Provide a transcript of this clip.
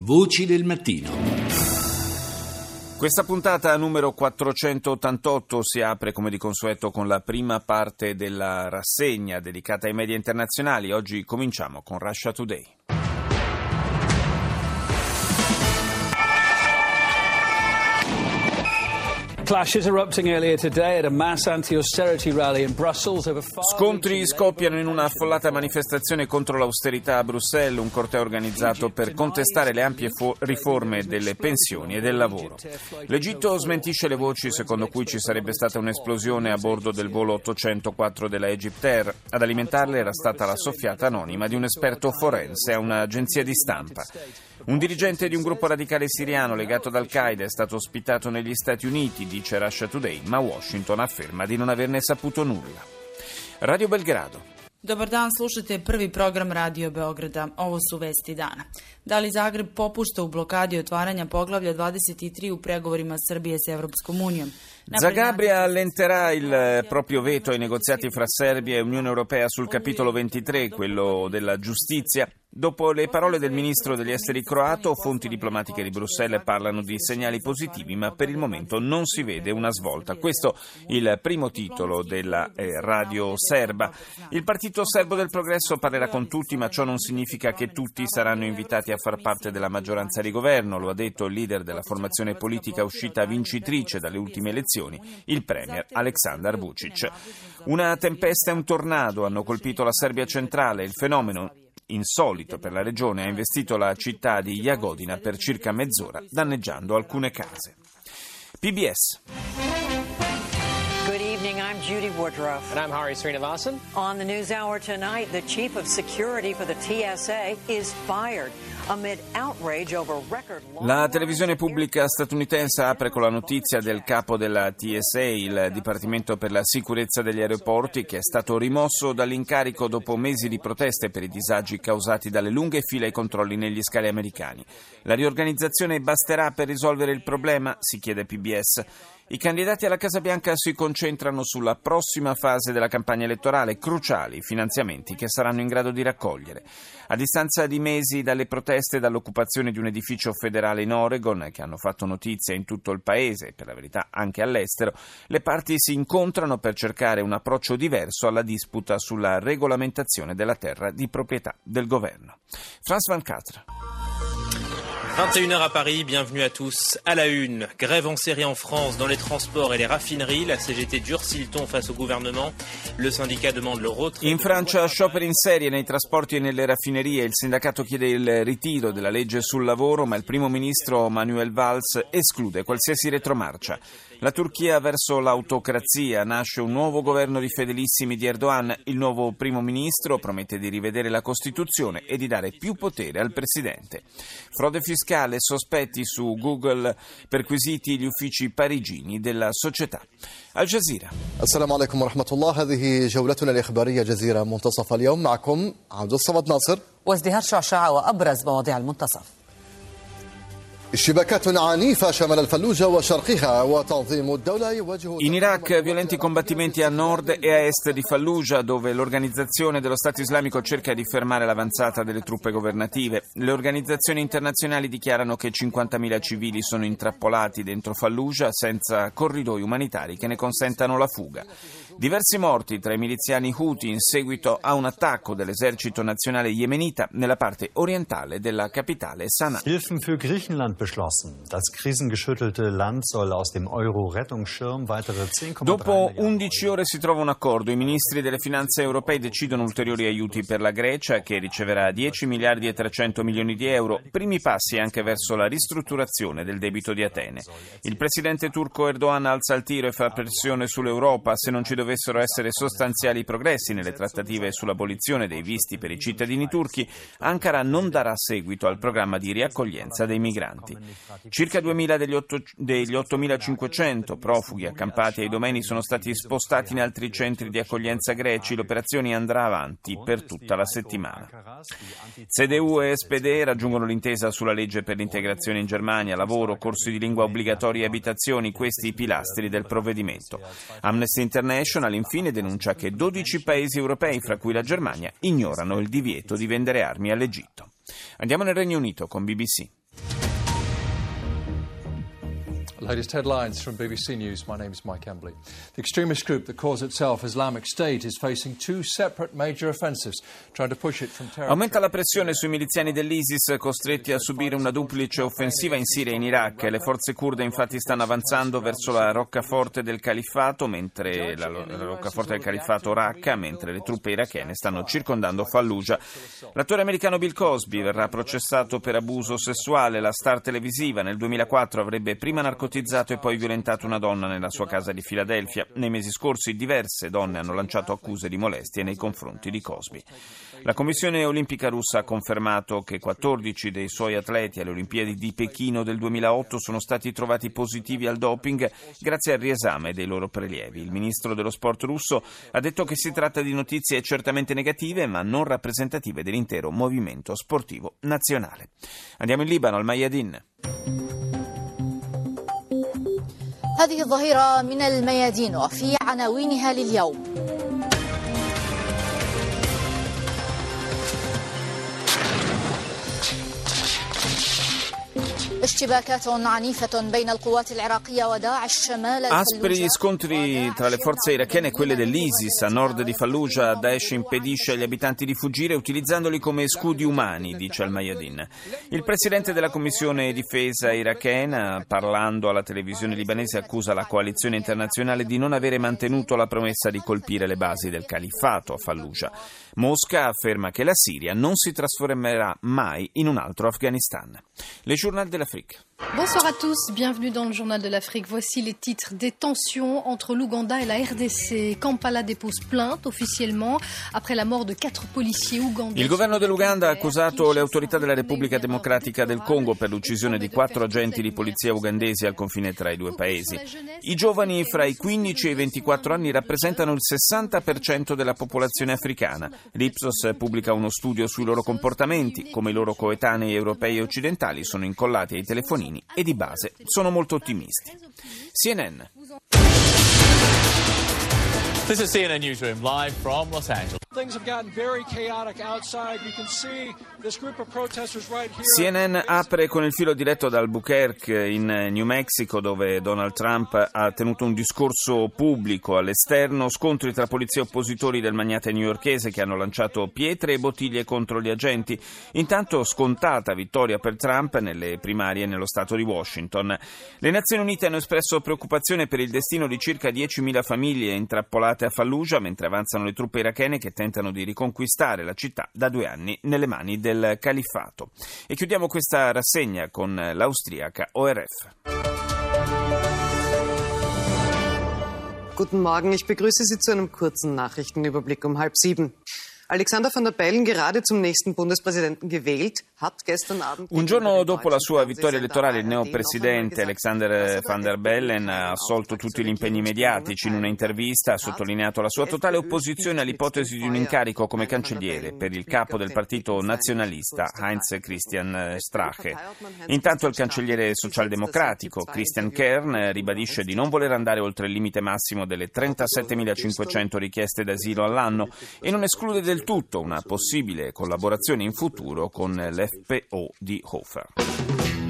Voci del mattino. Questa puntata numero 488 si apre come di consueto con la prima parte della rassegna dedicata ai media internazionali. Oggi cominciamo con Russia Today. Clashes erupting earlier today at a mass anti-austerity rally in Brussels over Scontri scoppiano in una affollata manifestazione contro l'austerità a Bruxelles, un corteo organizzato per contestare le ampie riforme delle pensioni e del lavoro. L'Egitto smentisce le voci secondo cui ci sarebbe stata un'esplosione a bordo del volo 804 della Egyptair. Ad alimentarle era stata la soffiata anonima di un esperto forense a un'agenzia di stampa. Un dirigente di un gruppo radicale siriano legato ad Al-Qaeda è stato ospitato negli Stati Uniti, dice Russia Today, ma Washington afferma di non averne saputo nulla. Radio Belgrado. Dobar dan, slušajte prvi program Radio Beograda. Ovo su vesti dana. Da li Zagreb popušta u blokadi otvaranja poglavlja 23 u pregovorima Srbije s Evropskom unijom? Zagabria allenterà il proprio veto ai negoziati fra Serbia e Unione Europea sul capitolo 23, quello della giustizia. Dopo le parole del ministro degli esteri croato, fonti diplomatiche di Bruxelles parlano di segnali positivi, ma per il momento non si vede una svolta. Questo il primo titolo della radio serba. Il Partito Serbo del Progresso parlerà con tutti, ma ciò non significa che tutti saranno invitati a far parte della maggioranza di governo, lo ha detto il leader della formazione politica uscita vincitrice dalle ultime elezioni, il premier Aleksandar Vučić. Una tempesta e un tornado hanno colpito la Serbia centrale. Il fenomeno, insolito per la regione, ha investito la città di Jagodina per circa mezz'ora, danneggiando alcune case. PBS. Good evening, I'm Judy Woodruff. And I'm Hari Srinivasan. On the News Hour tonight, the chief of security for the TSA is fired amid outrage over record law. La televisione pubblica statunitense apre con la notizia del capo della TSA, il Dipartimento per la sicurezza degli aeroporti, che è stato rimosso dall'incarico dopo mesi di proteste per i disagi causati dalle lunghe file ai controlli negli scali americani. La riorganizzazione basterà per risolvere il problema? Si chiede PBS. I candidati alla Casa Bianca si concentrano sulla prossima fase della campagna elettorale, cruciali i finanziamenti che saranno in grado di raccogliere. A distanza di mesi dalle proteste e dall'occupazione di un edificio federale in Oregon, che hanno fatto notizia in tutto il paese e per la verità anche all'estero, le parti si incontrano per cercare un approccio diverso alla disputa sulla regolamentazione della terra di proprietà del governo. Frans van Catra. 21h à Paris, bienvenue à tous. À la une, grève en série en France dans les transports et les raffineries. La CGT durcit le ton face au gouvernement. Le syndicat demande le retrait. In Francia, scioperi in serie nei trasporti e nelle raffinerie. Il sindacato chiede il ritiro della legge sul lavoro, ma il primo ministro Manuel Valls esclude qualsiasi retromarcia. La Turchia verso l'autocrazia. Nasce un nuovo governo di fedelissimi di Erdogan. Il nuovo primo ministro promette di rivedere la Costituzione e di dare più potere al presidente. Frode fiscale, sospetti su Google, perquisiti gli uffici parigini della società. Al Jazeera. السلام عليكم ورحمة الله. هذه جولتنا الإخبارية جزيرة منتصف اليوم. معكم عبد الصمد ناصر وازدهار شعشعة وأبرز مواضيع المنتصف. اشتباكات عنيفة شمال الفلوجة وشرقها وتنظيم الدولة يواجه. In Iraq violenti combattimenti a nord e a est di Fallujah, dove l'organizzazione dello Stato islamico cerca di fermare l'avanzata delle truppe governative. Le organizzazioni internazionali dichiarano che 50.000 civili sono intrappolati dentro Fallujah senza corridoi umanitari che ne consentano la fuga. Diversi morti tra i miliziani Houthi in seguito a un attacco dell'esercito nazionale yemenita nella parte orientale della capitale Sana'a. Hilfen für Griechenland beschlossen. Das krisengeschüttelte Land soll aus dem Euro-Rettungsschirm weitere 10,3 Dopo 11 ore si trova un accordo. I ministri delle finanze europei decidono ulteriori aiuti per la Grecia, che riceverà 10 miliardi e 300 milioni di euro. Primi passi anche verso la ristrutturazione del debito di Atene. Il presidente turco Erdogan alza il tiro e fa pressione sull'Europa. Se non ci dovessero essere sostanziali progressi nelle trattative sull'abolizione dei visti per i cittadini turchi, Ankara non darà seguito al programma di riaccoglienza dei migranti. Circa 2.000 degli 8.500 profughi accampati ai domeni sono stati spostati in altri centri di accoglienza greci. L'operazione andrà avanti per tutta la settimana. CDU e SPD raggiungono l'intesa sulla legge per l'integrazione in Germania, lavoro, corsi di lingua obbligatori e abitazioni, questi i pilastri del provvedimento. Amnesty International infine denuncia che 12 paesi europei, fra cui la Germania, ignorano il divieto di vendere armi all'Egitto. Andiamo nel Regno Unito con BBC. Latest headlines from BBC News. My name is Mike Embley. The extremist group that calls itself Islamic State is facing two separate major offensives, trying to push it from territory. Aumenta la pressione sui miliziani dell'ISIS costretti a subire una duplice offensiva in Siria e in Iraq. Le forze curde infatti stanno avanzando verso la roccaforte del califfato, mentre la roccaforte del califfato Raqqa, mentre le truppe irachene stanno circondando Fallujah. L'attore americano Bill Cosby verrà processato per abuso sessuale. La star televisiva nel 2004 avrebbe prima narcotizzato e poi violentato una donna nella sua casa di Filadelfia. Nei mesi scorsi diverse donne hanno lanciato accuse di molestie nei confronti di Cosby. La Commissione Olimpica russa ha confermato che 14 dei suoi atleti alle Olimpiadi di Pechino del 2008 sono stati trovati positivi al doping grazie al riesame dei loro prelievi. Il ministro dello sport russo ha detto che si tratta di notizie certamente negative ma non rappresentative dell'intero movimento sportivo nazionale. Andiamo in Libano, al Mayadin. هذه الظهيرة من الميادين وفي عناوينها لليوم. Aspri scontri tra le forze irachene e quelle dell'ISIS a nord di Fallujah. Daesh impedisce agli abitanti di fuggire utilizzandoli come scudi umani, dice al-Mayadin. Il presidente della Commissione Difesa irachena, parlando alla televisione libanese, accusa la coalizione internazionale di non avere mantenuto la promessa di colpire le basi del califfato a Fallujah. Mosca afferma che la Siria non si trasformerà mai in un altro Afghanistan. Le Journal de l'Afrique. Bonsoir à tous, bienvenue dans le Journal de l'Afrique. Voici les titres des tensions entre l'Ouganda et la RDC. Kampala dépose plainte officiellement après la mort de 4 policiers ougandais. Il governo dell'Uganda ha accusato le autorità della Repubblica Democratica del Congo per l'uccisione di 4 agenti di polizia ugandesi al confine tra i due paesi. I giovani fra i 15 e i 24 anni rappresentano il 60% della popolazione africana. L'Ipsos pubblica uno studio sui loro comportamenti. Come i loro coetanei europei e occidentali sono incollati ai telefonini e di base sono molto ottimisti. CNN. This is CNN Newsroom live from Los Angeles. Things have gotten very chaotic outside. You can see this group of protesters right here. CNN apre con il filo diretto da Albuquerque in New Mexico, dove Donald Trump ha tenuto un discorso pubblico. All'esterno scontri tra polizie e oppositori del magnate newyorkese che hanno lanciato pietre e bottiglie contro gli agenti. Intanto scontata vittoria per Trump nelle primarie nello stato di Washington. Le Nazioni Unite hanno espresso preoccupazione per il destino di circa 10.000 famiglie intrappolate a Fallujah mentre avanzano le truppe irachene che tentano di riconquistare la città da 2 anni nelle mani del califfato. E chiudiamo questa rassegna con l'austriaca ORF. Guten Morgen, ich begrüße Sie zu einem kurzen Nachrichtenüberblick um 6:30. Alexander Van der Bellen, gerade zum nächsten Bundespräsidenten gewählt, hat gestern Abend... Un giorno dopo la sua vittoria elettorale, il neopresidente Alexander Van der Bellen ha assolto tutti gli impegni mediatici. In una intervista ha sottolineato la sua totale opposizione all'ipotesi di un incarico come cancelliere per il capo del partito nazionalista Heinz Christian Strache. Intanto il cancelliere socialdemocratico Christian Kern ribadisce di non voler andare oltre il limite massimo delle 37.500 richieste d'asilo all'anno e non esclude del tutto una possibile collaborazione in futuro con l'FPO di Hofer.